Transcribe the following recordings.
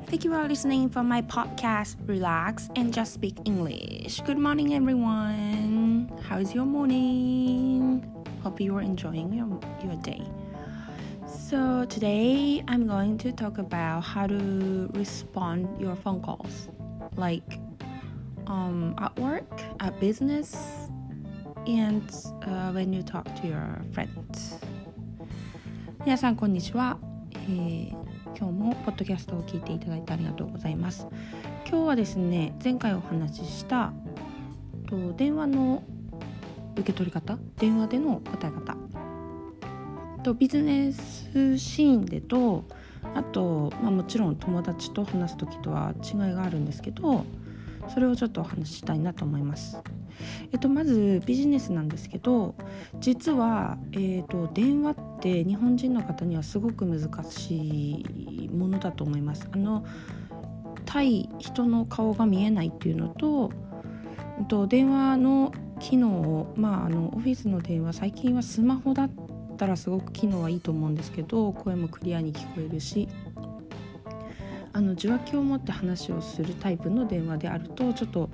Thank you for listening for my podcast. Relax and just speak English. Good morning, everyone. How's your morning? Hope you are enjoying your day. So today I'm going to talk about how to respond your phone calls, like at work, at business, and when you talk to your friends. 皆さんこんにちは。今日もポッドキャストを聞いていただいてありがとうございます。今日はですね、前回お話しした電話の受け取り方、電話での答え方とビジネスシーンでと、あと、もちろん友達と話す時とは違いがあるんですけど、それをちょっとお話ししたいなと思います。まずビジネスなんですけど、実は、電話って日本人の方にはすごく難しいものだと思います。対人の顔が見えないっていうのと、電話の機能を、オフィスの電話、最近はスマホだったらすごく機能はいいと思うんですけど、声もクリアに聞こえるし、受話器を持って話をするタイプの電話であるとちょっと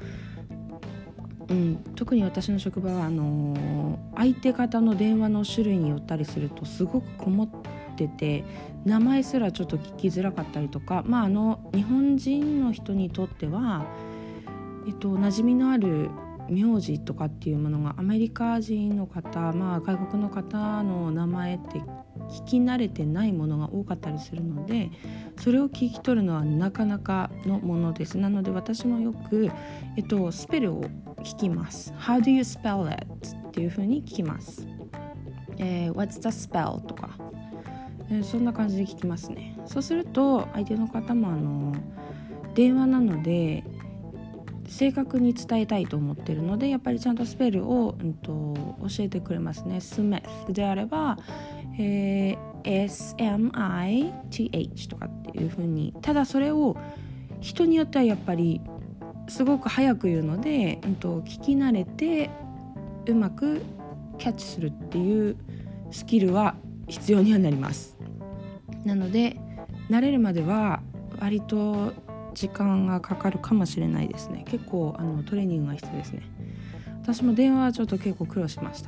特に私の職場は相手方の電話の種類によったりするとすごくこもってて、名前すらちょっと聞きづらかったりとか、日本人の人にとっては、馴染みのある名字とかっていうものがアメリカ人の方、外国の方の名前って聞き慣れてないものが多かったりするので、それを聞き取るのはなかなかのものです。なので私もよく、スペルを聞きます。 How do you spell it? っていう風に聞きます。What's the spell? とか、そんな感じで聞きますね。そうすると相手の方も電話なので正確に伝えたいと思っているので、やっぱりちゃんとスペルを、教えてくれますね。スメスであれば、SMITH とかっていう風に、ただそれを人によってはやっぱりすごく早く言うので、聞き慣れてうまくキャッチするっていうスキルは必要にはなります。なので慣れるまでは割と時間がかかるかもしれないですね。結構トレーニングが必要ですね。私も電話はちょっと結構苦労しました。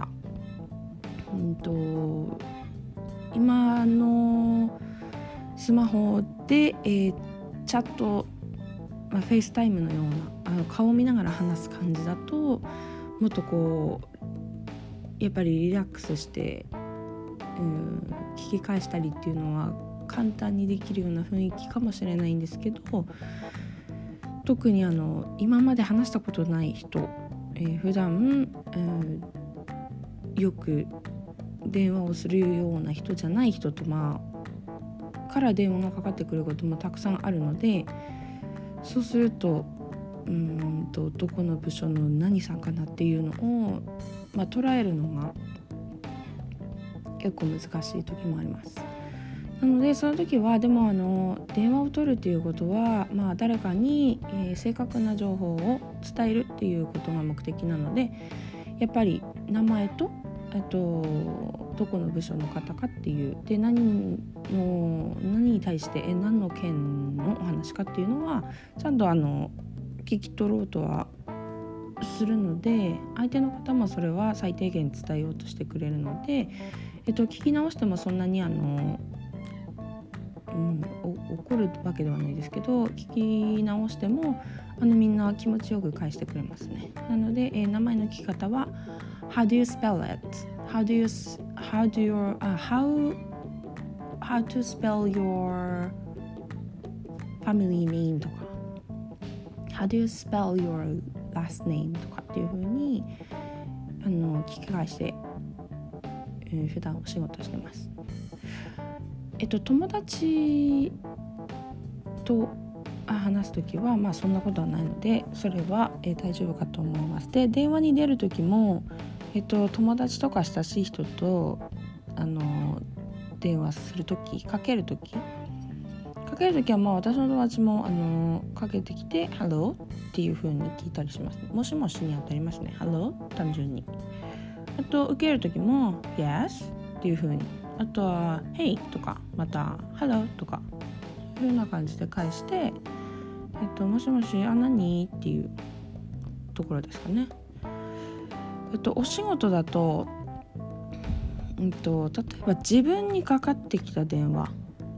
今のスマホで、チャット、フェイスタイムのような顔を見ながら話す感じだと、もっとやっぱりリラックスして、聞き返したりっていうのは簡単にできるような雰囲気かもしれないんですけど、特に今まで話したことない人、普段、よく電話をするような人じゃない人とから電話がかかってくることもたくさんあるので、そうするとどこの部署の何さんかなっていうのを、捉えるのが結構難しい時もあります。なのでその時はでも電話を取るっていうことは、誰かに、正確な情報を伝えるっていうことが目的なので、やっぱり名前とどこの部署の方かっていうで、何に対して何の件のお話かっていうのはちゃんと聞き取ろうとはするので、相手の方もそれは最低限伝えようとしてくれるので、聞き直してもそんなに怒るわけではないですけど、聞き直してもみんな気持ちよく返してくれますね。なので、名前の聞き方は How do you spell it? How to spell your family name とか How do you spell your last name とかっていう風に聞き返して、普段お仕事してます。友達と話すときはそんなことはないので、それは、大丈夫かと思います。で、電話に出るときも、友達とか親しい人と電話するとき、かけるときは私の友達もかけてきて Hello っていう風に聞いたりします。もしもしに当たりますね。 Hello 単純に。あと受けるときも Yes っていう風に、あとは Hey とかまた Hello とかいう風な感じで返して、もしもし、何っていうところですかね。お仕事だと、例えば自分にかかってきた電話、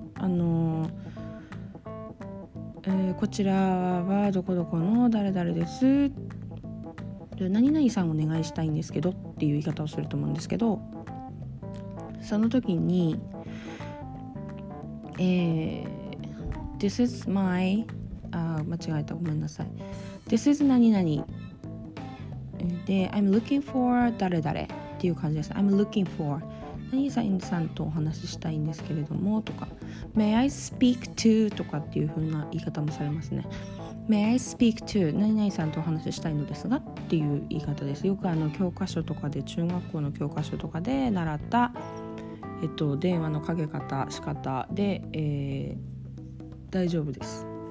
こちらはどこどこの誰々です、何々さんお願いしたいんですけどっていう言い方をすると思うんですけど、その時に、This is my 間違えた、ごめんなさい。This is 何々で I'm looking for 誰々っていう感じです。I'm looking for 何々さんとお話ししたいんですけれどもとか May I speak to とかっていう風な言い方もされますね。May I speak to 何々さんとお話ししたいのですがっていう言い方です。よく教科書とかで、中学校の教科書とかで習った、電話のかけ方、仕方で、大丈夫です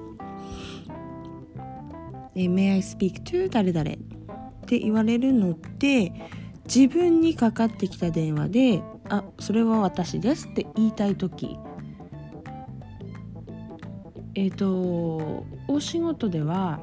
。May I speak to 誰々って言われるので、自分にかかってきた電話で、それは私ですって言いたいとき、お仕事では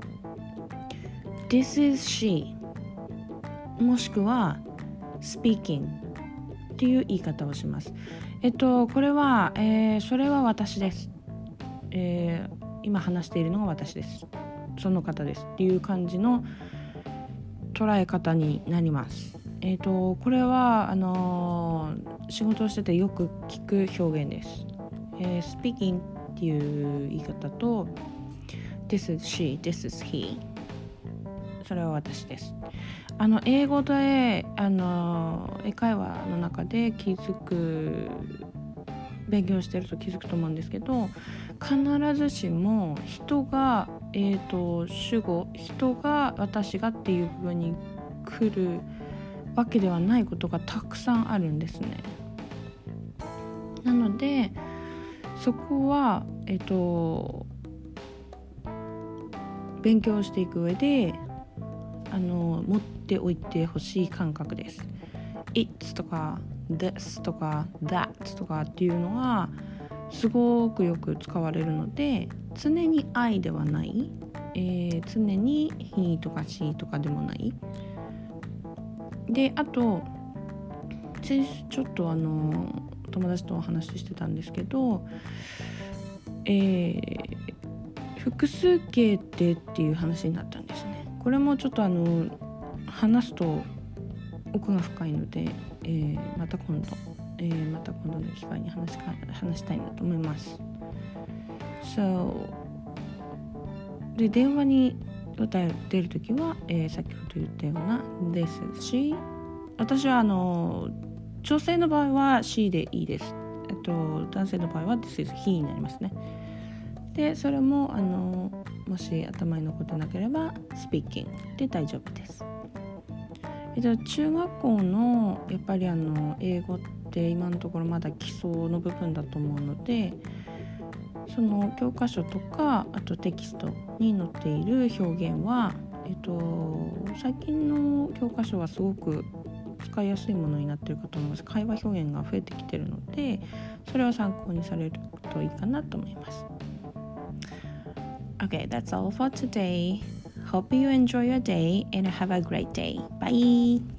This is she もしくは speaking っていう言い方をします。これは、それは私です、今話しているのが私です、その方ですっていう感じの捉え方になります。これは仕事をしててよく聞く表現です。speaking っていう言い方と This is she, this is he それは私です。英語で英会話の中で勉強してると気づくと思うんですけど、必ずしも人が、主語、人が私がっていう部分に来るわけではないことがたくさんあるんですね。なのでそこは、勉強していく上で持っておいてほしい感覚です。It's とか This とか That とかっていうのはすごくよく使われるので、常に I ではない、常に He とか She とかでもないで、あとちょっと友達とお話ししてたんですけど、複数形ってっていう話になったんですね。これもちょっと話すと奥が深いので、また今度の機会に話したいなと思います。で、電話に出るときは、先ほど言ったような This is she。 私は女性の場合は she でいいです。男性の場合は This is he になりますね。で、それももし頭に残ってなければ speaking で大丈夫です。中学校のやっぱり英語って今のところまだ基礎の部分だと思うので、その教科書とかあとテキストに載っている表現は、最近の教科書はすごく使いやすいものになっているかと思います。会話表現が増えてきているので、それは参考にされるといいかなと思います。Okay, that's all for today. Hope you enjoy your day and have a great day. Bye!